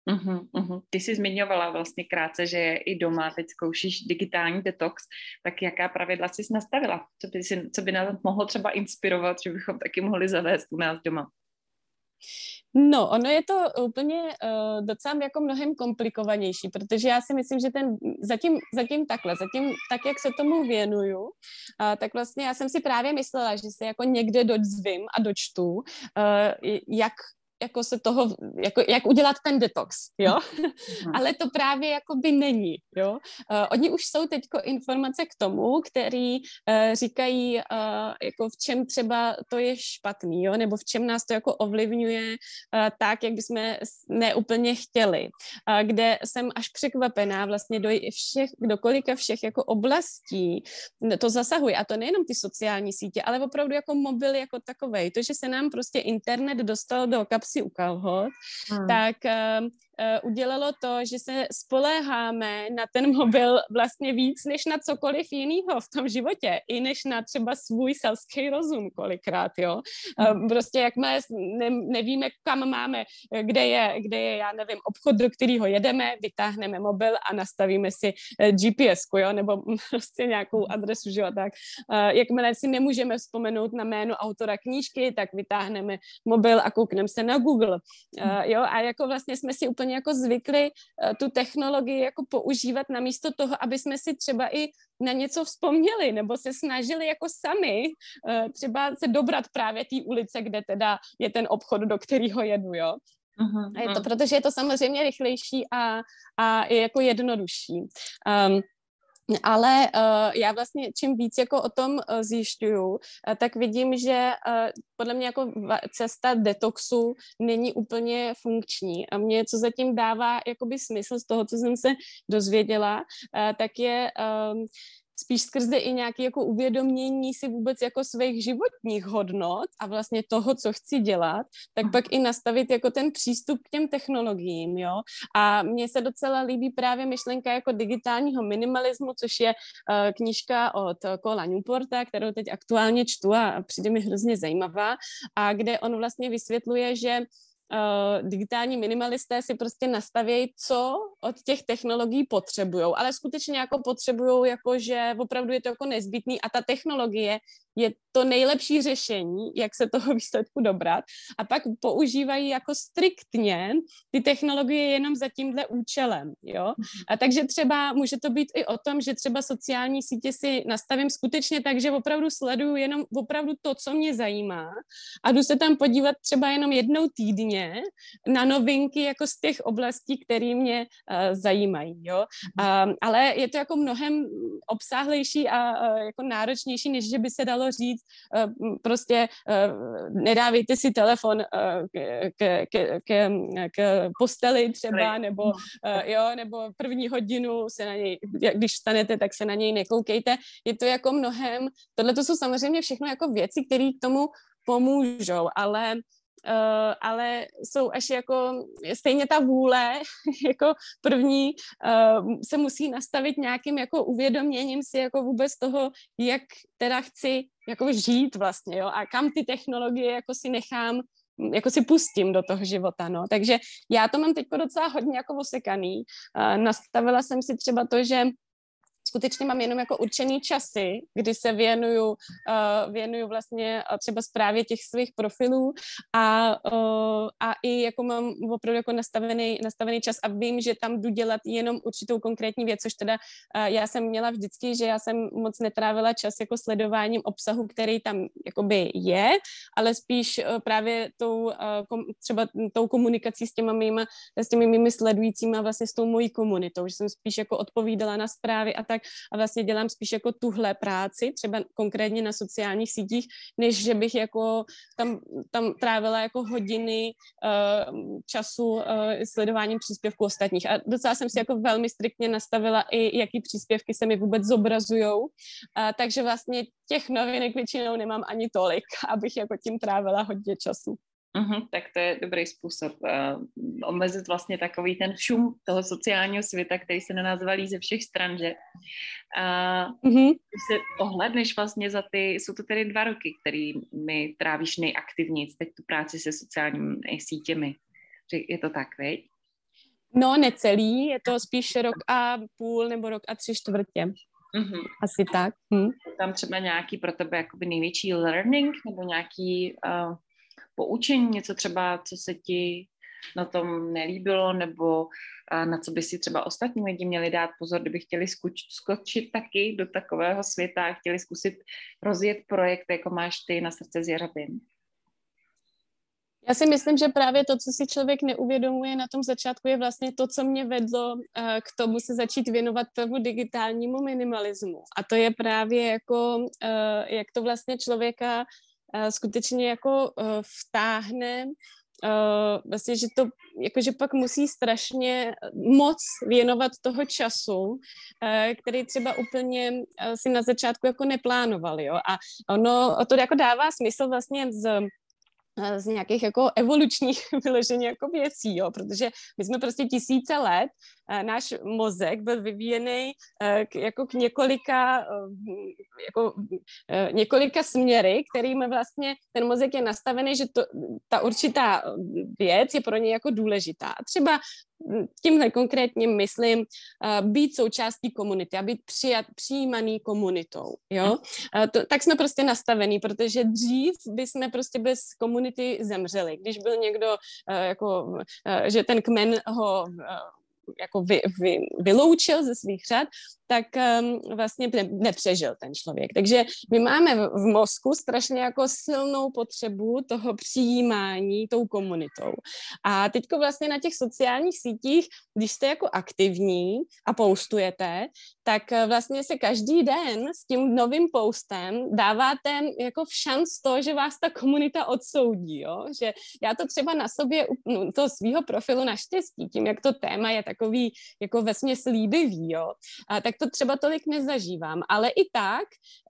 Uhum, uhum. Ty jsi zmiňovala vlastně krátce, že i doma teď zkoušíš digitální detox, tak jaká pravidla jsi nastavila? Co by, si, co by nás mohlo třeba inspirovat, že bychom taky mohli zavést u nás doma? No, ono je to úplně uh, docela jako mnohem komplikovanější, protože já si myslím, že ten zatím, zatím takhle, zatím tak, jak se tomu věnuju, uh, tak vlastně já jsem si právě myslela, že se jako někde dozvím a dočtu, uh, jak jako se toho, jako, jak udělat ten detox, jo, mm. Ale to právě jako by není, jo. Uh, oni už jsou teďko informace k tomu, který uh, říkají, uh, jako v čem třeba to je špatný, jo, nebo v čem nás to jako ovlivňuje uh, tak, jak bychom neúplně chtěli, uh, kde jsem až překvapená vlastně do všech, do kolika všech jako oblastí to zasahuje, a to nejenom ty sociální sítě, ale opravdu jako mobil jako takovej, to, že se nám prostě internet dostal do kapsy si u kalhot, hmm. tak uh, uh, udělalo to, že se spoléháme na ten mobil vlastně víc než na cokoliv jiného v tom životě, i než na třeba svůj selský rozum kolikrát, jo. Hmm. Uh, prostě jakmile ne, nevíme, kam máme, kde je, kde je, já nevím, obchod, do kterého jedeme, vytáhneme mobil a nastavíme si uh, G P S ku, jo, nebo prostě nějakou adresu, že jo, tak uh, jakmile si nemůžeme vzpomenout na jméno autora knížky, tak vytáhneme mobil a koukneme se na Google, uh, jo, a jako vlastně jsme si úplně jako zvykli uh, tu technologii jako používat namísto toho, aby jsme si třeba i na něco vzpomněli, nebo se snažili jako sami uh, třeba se dobrat právě té ulice, kde teda je ten obchod, do kterého jedu, jo. Uh-huh, a je to, protože je to samozřejmě rychlejší a, a je jako jednodušší. Um, Ale uh, já vlastně čím víc jako o tom uh, zjišťuju, uh, tak vidím, že uh, podle mě jako cesta detoxu není úplně funkční. A mě, co zatím dává jakoby smysl z toho, co jsem se dozvěděla, uh, tak je um, spíš skrze i nějaké jako uvědomění si vůbec jako svých životních hodnot a vlastně toho, co chci dělat, tak pak i nastavit jako ten přístup k těm technologiím, jo. A mně se docela líbí právě myšlenka jako digitálního minimalismu, což je uh, knížka od Cola Newporta, kterou teď aktuálně čtu a přijde mi hrozně zajímavá, a kde on vlastně vysvětluje, že Uh, digitální minimalisté si prostě nastavějí, co od těch technologií potřebujou, ale skutečně jako potřebujou, jako že opravdu je to jako nezbytný a ta technologie je to nejlepší řešení, jak se toho výsledku dobrat, a pak používají jako striktně ty technologie jenom za tímhle účelem, jo. A takže třeba může to být i o tom, že třeba sociální sítě si nastavím skutečně tak, že opravdu sleduju jenom opravdu to, co mě zajímá, a jdu se tam podívat třeba jenom jednou týdně na novinky jako z těch oblastí, které mě uh, zajímají, jo. Um, ale je to jako mnohem obsáhlejší a uh, jako náročnější, než že by se dalo říct, uh, prostě uh, nedávejte si telefon uh, k, k, k, k posteli třeba, nebo, uh, jo, nebo první hodinu se na něj, když vstanete, tak se na něj nekoukejte. Je to jako mnohem, tohle to jsou samozřejmě všechno jako věci, které k tomu pomůžou, ale Uh, ale jsou až jako, stejně ta vůle jako první uh, se musí nastavit nějakým jako uvědoměním si jako vůbec toho, jak teda chci jako žít vlastně, jo, a kam ty technologie jako si nechám, jako si pustím do toho života, no. Takže já to mám teďko docela hodně jako osekaný. Uh, nastavila jsem si třeba to, že skutečně mám jenom jako určený časy, kdy se věnuju, uh, věnuju vlastně třeba správě těch svých profilů a, uh, a i jako mám opravdu jako nastavený, nastavený čas a vím, že tam jdu dělat jenom určitou konkrétní věc, což teda uh, já jsem měla vždycky, že já jsem moc netrávila čas jako sledováním obsahu, který tam jakoby je, ale spíš uh, právě tou uh, kom, třeba tou komunikací s těma mýma, s těmi mými sledujícíma, vlastně s tou mojí komunitou, že jsem spíš jako odpovídala na zprávy a tak, a vlastně dělám spíš jako tuhle práci, třeba konkrétně na sociálních sítích, než že bych jako tam, tam trávila jako hodiny uh, času uh, sledováním příspěvků ostatních. A docela jsem si jako velmi striktně nastavila i, jaký příspěvky se mi vůbec zobrazujou. Uh, takže vlastně těch novinek většinou nemám ani tolik, abych jako tím trávila hodně času. Uhum, tak to je dobrý způsob uh, omezit vlastně takový ten šum toho sociálního světa, který se na nás valí ze všech stran, že? A uh, když se ohledneš vlastně za ty, jsou to tedy dva roky, kterými trávíš nejaktivněji teď tu práci se sociálními sítěmi. Je to tak, veď? No, necelý, je to spíš rok a půl nebo rok a tři čtvrtě. Mm-hmm. Asi tak. Hm. Tam třeba nějaký pro tebe jakoby největší learning nebo nějaký uh, poučení, něco třeba, co se ti na tom nelíbilo, nebo uh, na co by si třeba ostatní lidi měli dát pozor, kdyby chtěli skuč- skočit taky do takového světa a chtěli zkusit rozjet projekt, jako máš ty na Srdce s Jeřabin. Já si myslím, že právě to, co si člověk neuvědomuje na tom začátku, je vlastně to, co mě vedlo uh, k tomu se začít věnovat tomu digitálnímu minimalismu. A to je právě jako, uh, jak to vlastně člověka uh, skutečně jako uh, vtáhne, uh, vlastně, že to, jakože pak musí strašně moc věnovat toho času, uh, který třeba úplně uh, si na začátku jako neplánoval, jo. A ono to jako dává smysl vlastně z z nějakých jako evolučních vyloženě jako věcí, jo, protože my jsme prostě tisíce let, náš mozek byl vyvíjený k, jako k několika, jako, několika směry, kterými vlastně ten mozek je nastavený, že to, ta určitá věc je pro něj jako důležitá. Třeba tímhle konkrétně myslím uh, být součástí komunity a být přijat, přijímaný komunitou, jo. Uh, to, tak jsme prostě nastavení, protože dřív bychom prostě bez komunity zemřeli. Když byl někdo, uh, jako, uh, že ten kmen ho uh, jako vy, vy, vyloučil ze svých řad, tak um, vlastně ne, nepřežil ten člověk. Takže my máme v, v mozku strašně jako silnou potřebu toho přijímání tou komunitou. A teďko vlastně na těch sociálních sítích, když jste jako aktivní a postujete, tak vlastně se každý den s tím novým postem dáváte jako v šanc to, že vás ta komunita odsoudí, jo? Že já to třeba na sobě, no, to svýho profilu naštěstí, tím, jak to téma je takový jako vesměs líbivý, jo? A tak to třeba tolik nezažívám, ale i tak,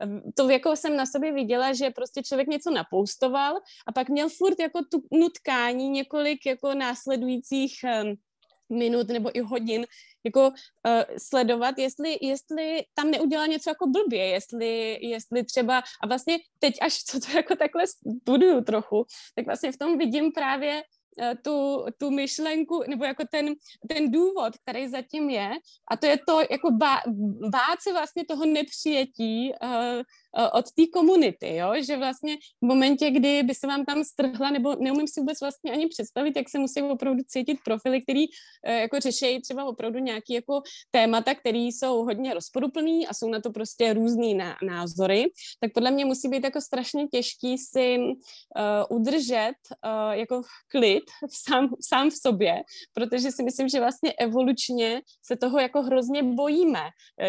to jako jsem na sobě viděla, že prostě člověk něco napoustoval a pak měl furt jako tu nutkání několik jako následujících um, minut nebo i hodin jako uh, sledovat, jestli, jestli tam neudělá něco jako blbě, jestli, jestli třeba, a vlastně teď až co to jako takhle studuju trochu, tak vlastně v tom vidím právě Tu, tu myšlenku, nebo jako ten, ten důvod, který zatím je, a to je to jako bá, bát se vlastně toho nepřijetí uh, uh, od té komunity, jo, že vlastně v momentě, kdy by se vám tam strhla, nebo neumím si vůbec vlastně ani představit, jak se musí opravdu cítit profily, který uh, jako řeší třeba opravdu nějaký jako témata, které jsou hodně rozporuplný a jsou na to prostě různý ná, názory, tak podle mě musí být jako strašně těžký si uh, udržet uh, jako klid sám, sám v sobě, protože si myslím, že vlastně evolučně se toho jako hrozně bojíme,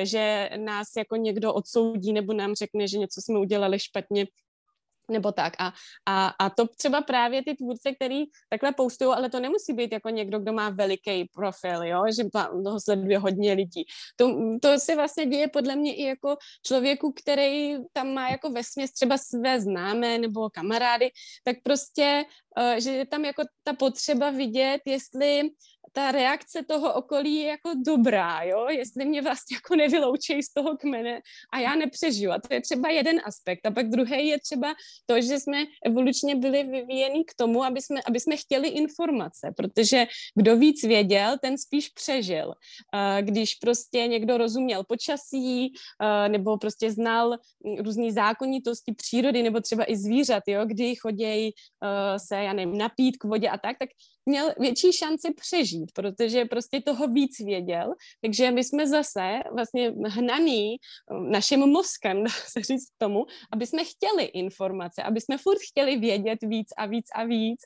že nás jako někdo odsoudí nebo nám řekne, že něco jsme udělali špatně nebo tak. A, a, a to třeba právě ty tvůrce, který takhle postují, ale to nemusí být jako někdo, kdo má veliký profil, jo? Že toho sleduje hodně lidí. To, to se vlastně děje podle mě i jako člověku, který tam má jako vesměs třeba své známé nebo kamarády, tak prostě, uh, že je tam jako ta potřeba vidět, jestli ta reakce toho okolí je jako dobrá, jo, jestli mě vlastně jako nevyloučí z toho kmene a já nepřežiju. A to je třeba jeden aspekt. A pak druhý je třeba to, že jsme evolučně byli vyvíjeni k tomu, aby jsme, aby jsme chtěli informace, protože kdo víc věděl, ten spíš přežil. Když prostě někdo rozuměl počasí, nebo prostě znal různý zákonitosti přírody, nebo třeba i zvířat, jo, kdy chodějí se, já nevím, napít k vodě a tak, tak měl větší šanci přežít, protože prostě toho víc věděl, takže my jsme zase vlastně hnaný naším mozkem, dá se říct k tomu, aby jsme chtěli informace, aby jsme furt chtěli vědět víc a víc a víc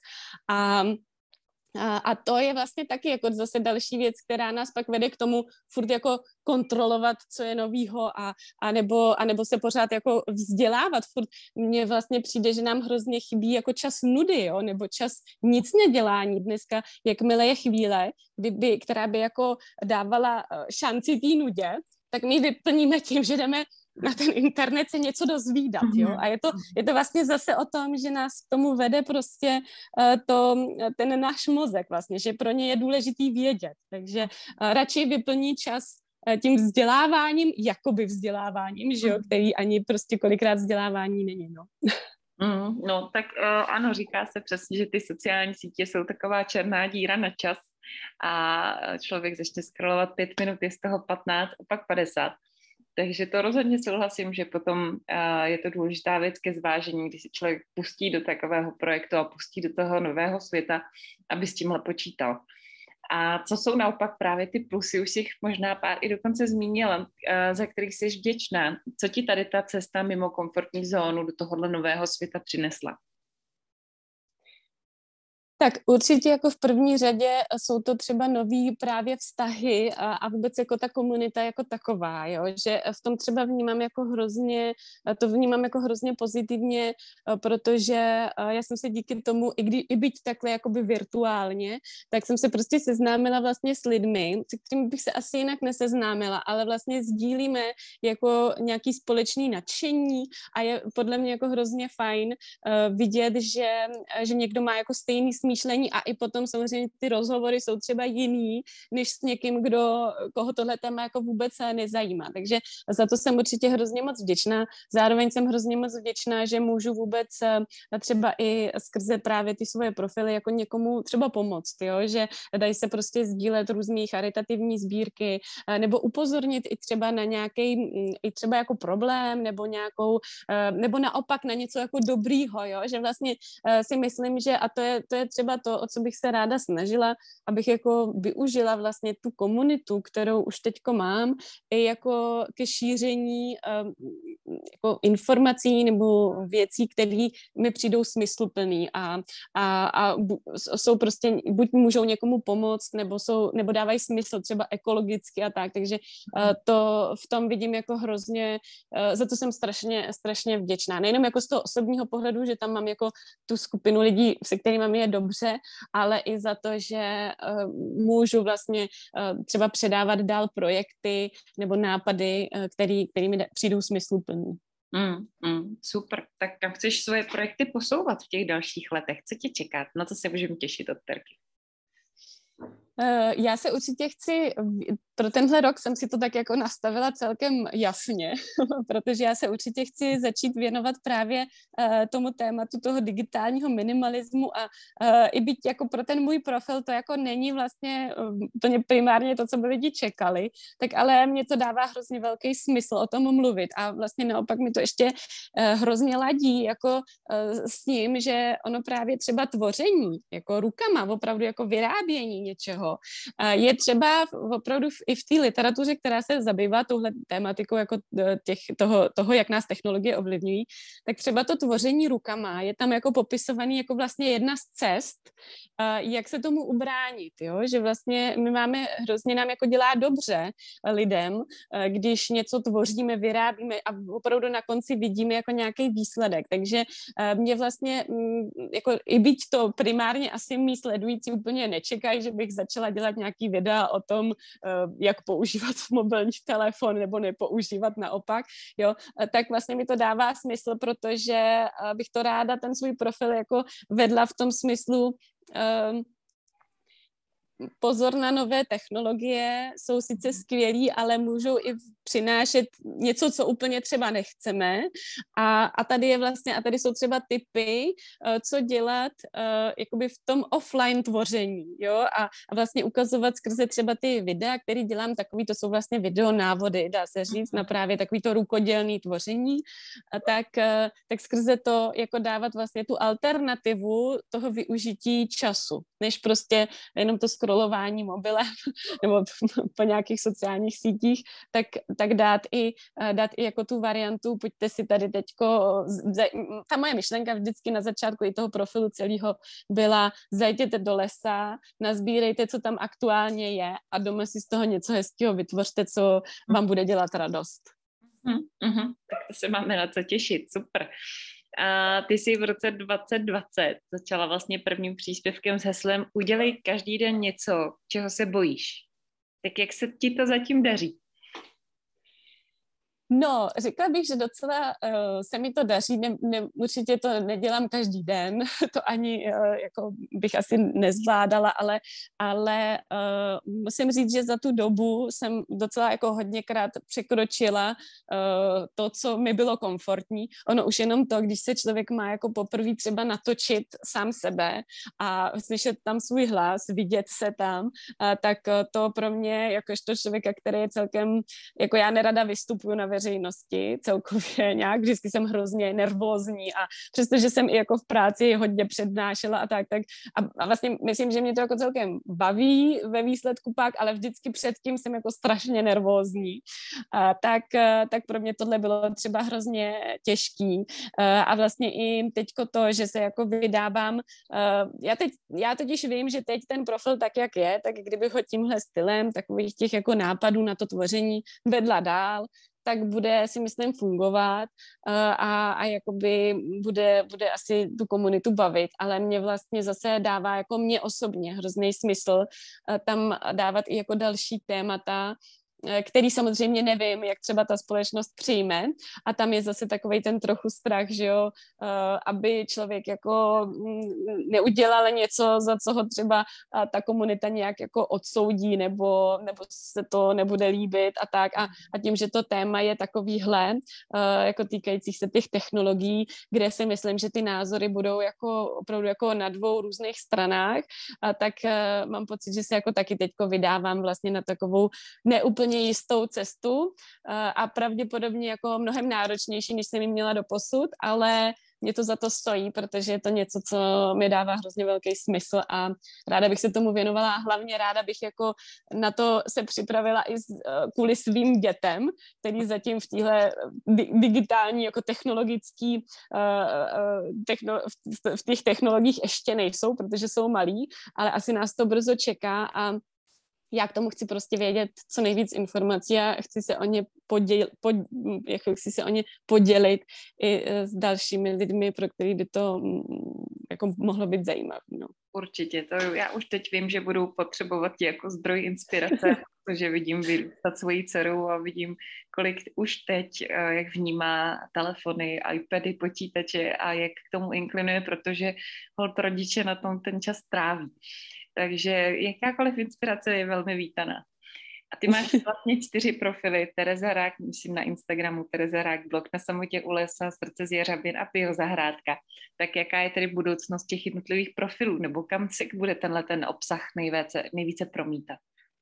a A, a to je vlastně taky jako zase další věc, která nás pak vede k tomu furt jako kontrolovat, co je novýho a, a, nebo, a nebo se pořád jako vzdělávat. Furt mně vlastně přijde, že nám hrozně chybí jako čas nudy, jo? Nebo čas nic nedělání. Dneska, jakmile je chvíle, kdyby, která by jako dávala šanci té nudě, tak my vyplníme tím, že jdeme na ten internet se něco dozvídat, jo. A je to, je to vlastně zase o tom, že nás k tomu vede prostě uh, to, ten náš mozek vlastně, že pro ně je důležitý vědět. Takže uh, radši vyplní čas uh, tím vzděláváním, jakoby vzděláváním, že jo, který ani prostě kolikrát vzdělávání není, no. Mm, no, tak uh, ano, říká se přesně, že ty sociální sítě jsou taková černá díra na čas, a člověk začne scrollovat pět minut, je z toho patnáct a pak padesát. Takže to rozhodně souhlasím, že potom uh, je to důležitá věc ke zvážení, když se člověk pustí do takového projektu a pustí do toho nového světa, aby s tímhle počítal. A co jsou naopak právě ty plusy, už si jich možná pár i dokonce zmínila, uh, za kterých jsi vděčná. Co ti tady ta cesta mimo komfortní zónu do tohohle nového světa přinesla? Tak určitě jako v první řadě jsou to třeba nový právě vztahy a, a vůbec jako ta komunita jako taková, jo? Že v tom třeba vnímám jako hrozně, to vnímám jako hrozně pozitivně, protože já jsem se díky tomu, i, kdy, i byť takhle jakoby virtuálně, tak jsem se prostě seznámila vlastně s lidmi, se kterými bych se asi jinak neseznámila, ale vlastně sdílíme jako nějaký společný nadšení a je podle mě jako hrozně fajn uh, vidět, že, že někdo má jako stejný smýšlení a i potom samozřejmě ty rozhovory jsou třeba jiný, než s někým, kdo, koho tohle téma jako vůbec nezajímá. Takže za to jsem určitě hrozně moc vděčná. Zároveň jsem hrozně moc vděčná, že můžu vůbec třeba i skrze právě ty svoje profily jako někomu třeba pomoct, jo? Že dají se prostě sdílet různý charitativní sbírky nebo upozornit i třeba na nějaký i třeba jako problém nebo nějakou, nebo naopak na něco jako dobrýho, jo? Že vlastně si myslím, že a to je, to je třeba to, o co bych se ráda snažila, abych jako využila vlastně tu komunitu, kterou už teďko mám, i jako ke šíření um, jako informací nebo věcí, které mi přijdou smysluplný a, a, a jsou prostě, buď můžou někomu pomoct, nebo, jsou, nebo dávají smysl třeba ekologicky a tak, takže uh, to v tom vidím jako hrozně, uh, za to jsem strašně, strašně vděčná. Nejenom jako z toho osobního pohledu, že tam mám jako tu skupinu lidí, se kterými mi je dobře, ale i za to, že uh, můžu vlastně uh, třeba předávat dál projekty nebo nápady, uh, který, který mi přijdou smysluplný. Mm, mm, super. Tak kam chceš svoje projekty posouvat v těch dalších letech? Co tě čeká? Na co se můžeme těšit od Terky? Uh, já se určitě chci, pro tenhle rok jsem si to tak jako nastavila celkem jasně, protože já se určitě chci začít věnovat právě uh, tomu tématu toho digitálního minimalismu a uh, i byť jako pro ten můj profil to jako není vlastně úplně uh, primárně to, co by lidi čekali, tak ale mě to dává hrozně velký smysl o tom mluvit a vlastně naopak mi to ještě uh, hrozně ladí jako uh, s tím, že ono právě třeba tvoření, jako rukama, opravdu jako vyrábění něčeho, je třeba opravdu i v té literatuře, která se zabývá touhle tématikou jako těch, toho, toho, jak nás technologie ovlivňují, tak třeba to tvoření rukama je tam jako popisovaný jako vlastně jedna z cest, jak se tomu ubránit, jo? Že vlastně my máme, hrozně nám jako dělá dobře lidem, když něco tvoříme, vyrábíme a opravdu na konci vidíme jako nějaký výsledek, takže mě vlastně jako i byť to primárně asi mý sledující úplně nečekají, že bych začala dělat nějaký videa o tom, jak používat mobilní telefon nebo nepoužívat naopak, jo, tak vlastně mi to dává smysl, protože bych to ráda ten svůj profil jako vedla v tom smyslu um, pozor na nové technologie, jsou sice skvělí, ale můžou i přinášet něco, co úplně třeba nechceme a, a tady je vlastně, a tady jsou třeba tipy, uh, co dělat uh, jakoby v tom offline tvoření, jo, a, a vlastně ukazovat skrze třeba ty videa, které dělám, takový, to jsou vlastně videonávody, dá se říct, na právě takový to rukodělný tvoření, a tak, uh, tak skrze to jako dávat vlastně tu alternativu toho využití času, než prostě jenom to scrollování mobilem nebo po nějakých sociálních sítích, tak, tak dát i, dát i jako tu variantu, pojďte si tady teďko, ta moje myšlenka vždycky na začátku i toho profilu celého byla, zajděte do lesa, nazbírejte, co tam aktuálně je a doma si z toho něco hezkého vytvořte, co vám bude dělat radost. Mm-hmm. Tak to se máme na co těšit, super. A ty jsi v roce dvacet dvacet začala vlastně prvním příspěvkem s heslem Udělej každý den něco, čeho se bojíš. Tak jak se ti to zatím daří? No, řekla bych, že docela uh, se mi to daří, ne, ne, určitě to nedělám každý den, to ani uh, jako bych asi nezvládala, ale, ale uh, musím říct, že za tu dobu jsem docela jako hodněkrát překročila uh, to, co mi bylo komfortní. Ono už jenom to, když se člověk má jako poprvé třeba natočit sám sebe a slyšet tam svůj hlas, vidět se tam, uh, tak to pro mě, jakožto člověka, který je celkem, jako já nerada vystupuju na veřejnosti celkově nějak, vždycky jsem hrozně nervózní a přestože jsem i jako v práci hodně přednášela a tak, tak a, a vlastně myslím, že mě to jako celkem baví ve výsledku pak, ale vždycky předtím jsem jako strašně nervózní. A, tak, tak pro mě tohle bylo třeba hrozně těžký a, a vlastně i teďko to, že se jako vydávám, a, já teď, já totiž vím, že teď ten profil tak, jak je, tak kdybych ho tímhle stylem takových těch jako nápadů na to tvoření vedla dál, tak bude, si myslím, fungovat a, a jakoby bude, bude asi tu komunitu bavit, ale mě vlastně zase dává jako mě osobně hrozný smysl tam dávat i jako další témata, který samozřejmě nevím, jak třeba ta společnost přijme a tam je zase takovej ten trochu strach, že jo, aby člověk jako neudělal něco, za co ho třeba ta komunita nějak jako odsoudí nebo, nebo se to nebude líbit a tak a, a tím, že to téma je takovýhle, jako týkajících se těch technologií, kde si myslím, že ty názory budou jako opravdu jako na dvou různých stranách, a tak mám pocit, že se jako taky teďko vydávám vlastně na takovou neúplně jistou cestu a pravděpodobně jako mnohem náročnější, než jsem ji měla doposud, ale mě to za to stojí, protože je to něco, co mi dává hrozně velký smysl a ráda bych se tomu věnovala a hlavně ráda bych jako na to se připravila i z, kvůli svým dětem, který zatím v téhle digitální jako technologický techno, v těch technologiích ještě nejsou, protože jsou malí, ale asi nás to brzo čeká a já k tomu chci prostě vědět co nejvíc informací a chci se o ně, poděl, pod, jako chci se o ně podělit i s dalšími lidmi, pro který by to jako mohlo být zajímavé. No. Určitě, to já už teď vím, že budu potřebovat jako zdroj inspirace, protože vidím vyrůstat svoji dceru a vidím, kolik už teď, jak vnímá telefony, iPady, počítače a jak k tomu inklinuje, protože holt rodiče na tom ten čas tráví. Takže jakákoliv inspirace je velmi vítaná. A ty máš vlastně čtyři profily. Tereza Rák, myslím na Instagramu, Tereza Rák, blog Na samotě u lesa, Srdce z Jeřabin a Biozahrádka. Tak jaká je tedy budoucnost těch jednotlivých profilů? Nebo kam se bude tenhle ten obsah nejvíce, nejvíce promítat?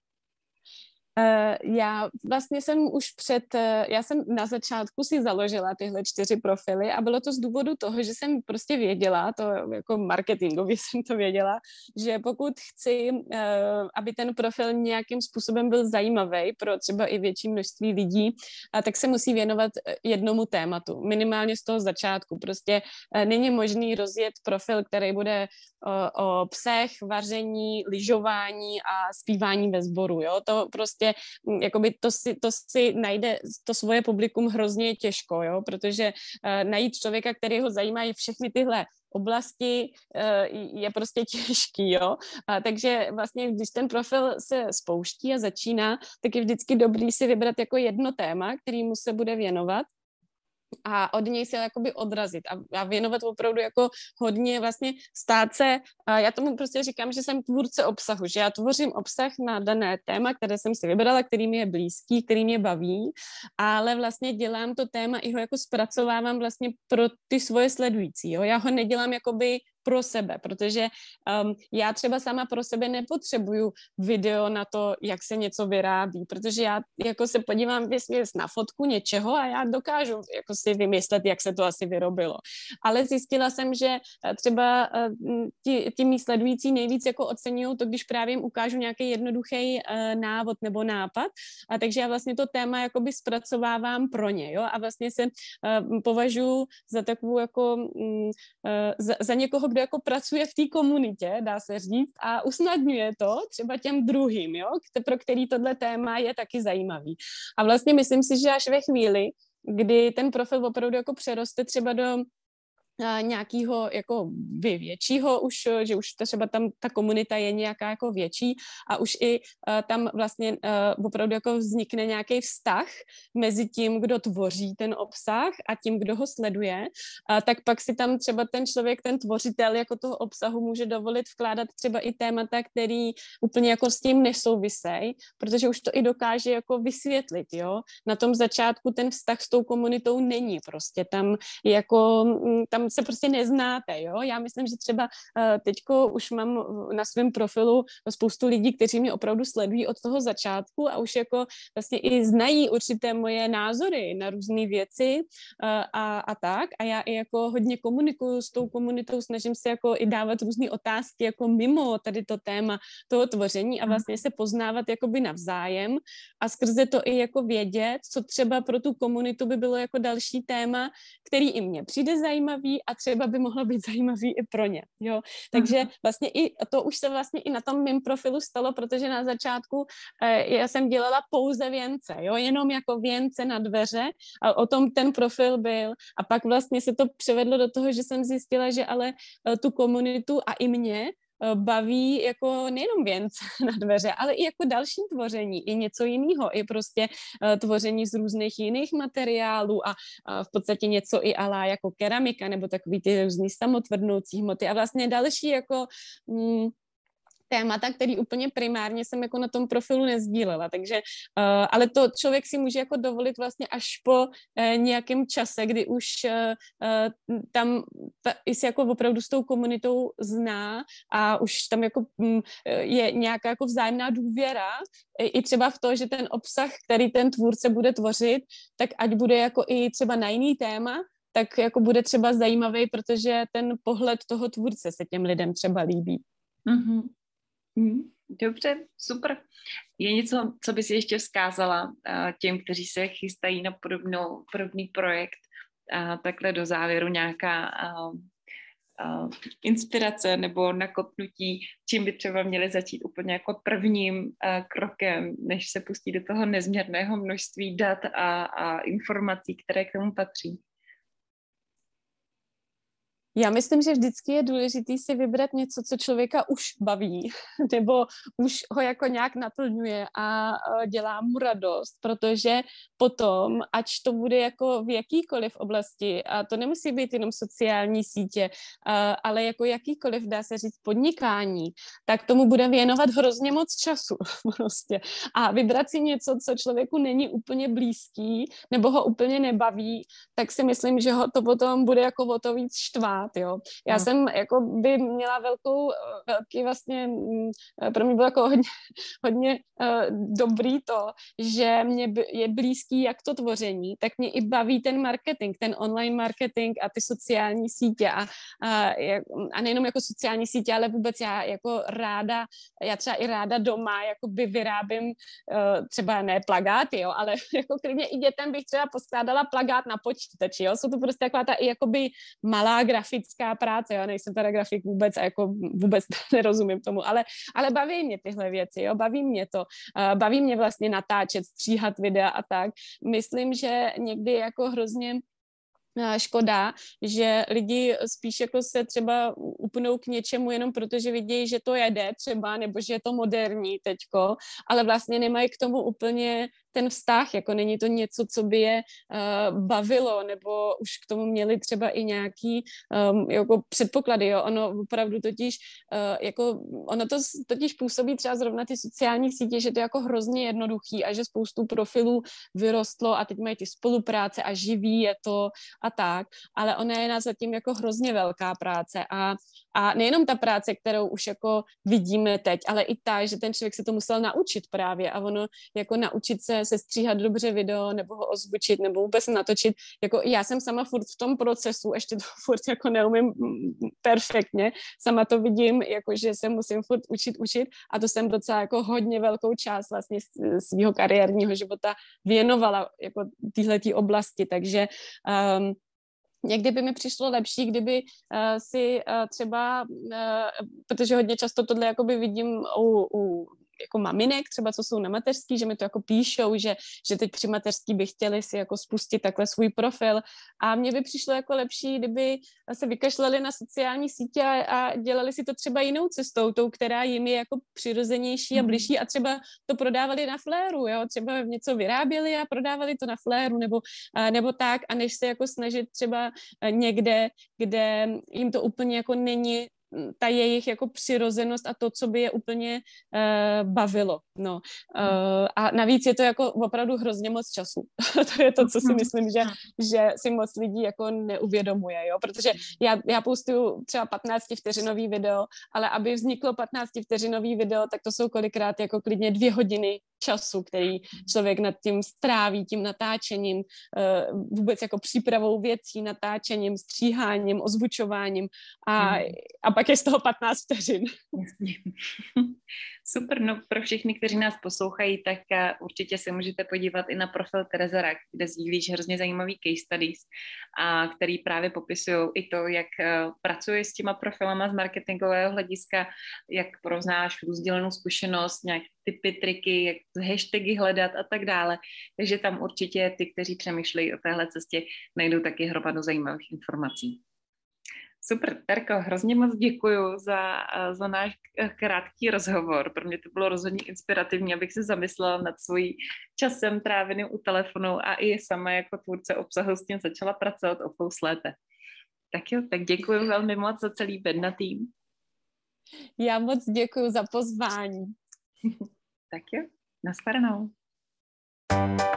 Uh, já vlastně jsem už před, uh, já jsem na začátku si založila tyhle čtyři profily a bylo to z důvodu toho, že jsem prostě věděla, to jako marketingově jsem to věděla, že pokud chci, uh, aby ten profil nějakým způsobem byl zajímavý pro třeba i větší množství lidí, uh, tak se musí věnovat jednomu tématu, minimálně z toho začátku. Prostě uh, není možný rozjet profil, který bude uh, o psech, vaření, lyžování a zpívání ve sboru, jo, to prostě jakoby to si, to si najde to svoje publikum hrozně těžko, jo, protože uh, najít člověka, který ho zajímají všechny tyhle oblasti uh, je prostě těžký, jo. A takže vlastně, když ten profil se spouští a začíná, tak je vždycky dobrý si vybrat jako jedno téma, kterému se bude věnovat a od něj se jakoby odrazit a, a věnovat opravdu jako hodně vlastně stát se, a já tomu prostě říkám, že jsem tvůrce obsahu, že já tvořím obsah na dané téma, které jsem si vybrala, který mi je blízký, který mě baví, ale vlastně dělám to téma i ho jako zpracovávám vlastně pro ty svoje sledující, jo, já ho nedělám jakoby pro sebe, protože um, já třeba sama pro sebe nepotřebuju video na to, jak se něco vyrábí, protože já jako se podívám věsměs na fotku něčeho a já dokážu jako si vymyslet, jak se to asi vyrobilo. Ale zjistila jsem, že třeba uh, ti, ti mý sledující nejvíc jako oceňují to, když právě jim ukážu nějaký jednoduchý uh, návod nebo nápad, a takže já vlastně to téma jakoby zpracovávám pro ně, jo, a vlastně se uh, považuji za takovou jako um, uh, za, za někoho, kdo jako pracuje v té komunitě, dá se říct, a usnadňuje to třeba těm druhým, jo, pro který tohle téma je taky zajímavý. A vlastně myslím si, že až ve chvíli, kdy ten profil opravdu jako přeroste třeba do nějakého jako většího už, že už třeba tam ta komunita je nějaká jako větší a už i uh, tam vlastně uh, opravdu jako vznikne nějaký vztah mezi tím, kdo tvoří ten obsah a tím, kdo ho sleduje, uh, tak pak si tam třeba ten člověk, ten tvořitel jako toho obsahu může dovolit vkládat třeba i témata, který úplně jako s tím nesouvisej, protože už to i dokáže jako vysvětlit, jo. Na tom začátku ten vztah s tou komunitou není prostě, tam jako, tam se prostě neznáte, jo. Já myslím, že třeba uh, teďko už mám na svém profilu spoustu lidí, kteří mě opravdu sledují od toho začátku a už jako vlastně i znají určité moje názory na různé věci uh, a, a tak. A já i jako hodně komunikuju s tou komunitou, snažím se jako i dávat různé otázky jako mimo tady to téma toho tvoření a vlastně se poznávat jakoby navzájem a skrze to i jako vědět, co třeba pro tu komunitu by bylo jako další téma, který i mně přijde zajímavý a třeba by mohlo být zajímavý i pro ně, jo. Takže vlastně i to už se vlastně i na tom mém profilu stalo, protože na začátku eh, já jsem dělala pouze věnce, jo, jenom jako věnce na dveře a o tom ten profil byl a pak vlastně se to převedlo do toho, že jsem zjistila, že ale eh, tu komunitu a i mě baví jako nejenom věnce na dveře, ale i jako další tvoření, i něco jiného, i prostě uh, tvoření z různých jiných materiálů a uh, v podstatě něco i ala jako keramika nebo takový ty různý samotvrdnoucí hmoty a vlastně další jako mm, témata, který úplně primárně jsem jako na tom profilu nezdílela, takže, uh, ale to člověk si může jako dovolit vlastně až po uh, nějakém čase, kdy už uh, uh, tam ta, si jako opravdu s tou komunitou zná a už tam jako um, je nějaká jako vzájemná důvěra i, i třeba v to, že ten obsah, který ten tvůrce bude tvořit, tak ať bude jako i třeba na jiný téma, tak jako bude třeba zajímavý, protože ten pohled toho tvůrce se těm lidem třeba líbí. Mm-hmm. Dobře, super. Je něco, co bys ještě vzkázala těm, kteří se chystají na podobnou, podobný projekt, a takhle do závěru nějaká a, a, inspirace nebo nakopnutí, čím by třeba měli začít úplně jako prvním a, krokem, než se pustí do toho nezměrného množství dat a, a informací, které k tomu patří? Já myslím, že vždycky je důležité si vybrat něco, co člověka už baví, nebo už ho jako nějak naplňuje a dělá mu radost, protože potom, ať to bude jako v jakýkoliv oblasti, a to nemusí být jenom sociální sítě, ale jako jakýkoliv, dá se říct, podnikání, tak tomu bude věnovat hrozně moc času prostě. A vybrat si něco, co člověku není úplně blízký, nebo ho úplně nebaví, tak si myslím, že ho to potom bude jako o to víc štvát. Jo. Já hmm. jsem jako by měla velkou, velký vlastně, pro mě bylo jako hodně, hodně uh, dobrý to, že mě je blízký jak to tvoření, tak mě i baví ten marketing, ten online marketing a ty sociální sítě a, a, a nejenom jako sociální sítě, ale vůbec já jako ráda, já třeba i ráda doma jakoby vyrábím uh, třeba ne plagáty, jo, ale jako klidně i dětem bych třeba poskládala plagát na počítači, jo, jsou to prostě taková ta i jakoby malá grafická práce, jo, nejsem teda grafik vůbec a jako vůbec nerozumím tomu, ale, ale baví mě tyhle věci, jo, baví mě to, uh, baví mě vlastně natáčet, stříhat videa a tak. Myslím, že někdy jako hrozně škoda, že lidi spíš jako se třeba upnou k něčemu jenom proto, že vidí, že to jede třeba, nebo že je to moderní teďko, ale vlastně nemají k tomu úplně ten vztah, jako není to něco, co by je uh, bavilo, nebo už k tomu měli třeba i nějaký um, jako předpoklady, jo, ono opravdu totiž, uh, jako ono to totiž působí třeba zrovna ty sociální sítě, že to je jako hrozně jednoduchý a že spoustu profilů vyrostlo a teď mají ty spolupráce a živí je to a tak, ale ona je na zatím jako hrozně velká práce a, a nejenom ta práce, kterou už jako vidíme teď, ale i ta, že ten člověk se to musel naučit právě a ono jako naučit se se stříhat dobře video, nebo ho ozvučit, nebo vůbec natočit. Jako já jsem sama furt v tom procesu, ještě to furt jako neumím perfektně, sama to vidím, jako že se musím furt učit, učit a to jsem docela jako hodně velkou část vlastně svého kariérního života věnovala jako téhletý oblasti, takže um, někdy by mi přišlo lepší, kdyby uh, si uh, třeba, uh, protože hodně často tohle jakoby vidím u, u jako maminek, třeba co jsou na mateřský, že mi to jako píšou, že, že teď při mateřský by chtěli si jako spustit takhle svůj profil a mně by přišlo jako lepší, kdyby se vykašlali na sociální sítě a, a dělali si to třeba jinou cestou, tou, která jim je jako přirozenější a bližší a třeba to prodávali na Fléru, jo, třeba něco vyráběli a prodávali to na Fléru nebo, nebo tak a než se jako snažit třeba někde, kde jim to úplně jako není ta jejich jako přirozenost a to, co by je úplně uh, bavilo. No. Uh, a navíc je to jako opravdu hrozně moc času. To je to, co si myslím, že, že si moc lidí jako neuvědomuje, jo? Protože já, já postuju třeba patnáctivteřinový video, ale aby vzniklo patnáctivteřinový video, tak to jsou kolikrát jako klidně dvě hodiny času, který člověk nad tím stráví, tím natáčením, uh, vůbec jako přípravou věcí, natáčením, stříháním, ozvučováním a, a pak je z toho patnáct vteřin. Jasně. Super, no pro všechny, kteří nás poslouchají, tak určitě se můžete podívat i na profil Tereza Rach, kde sdílíš hrozně zajímavý case studies, a který právě popisují i to, jak pracuješ s těma profilama z marketingového hlediska, jak poznáš sdílenou zkušenost, nějaké typy, triky, jak hashtagy hledat a tak dále. Takže tam určitě ty, kteří přemýšlejí o téhle cestě, najdou taky hromadu zajímavých informací. Super, Terko, hrozně moc děkuju za, za náš krátký rozhovor. Pro mě to bylo rozhodně inspirativní, abych se zamyslela nad svým časem tráveným u telefonu a i sama jako tvůrce obsahu s tím začala pracovat o fous lépe. Tak jo, tak děkuju velmi moc za celý Bedna tým. Já moc děkuju za pozvání. Tak jo, nashledanou.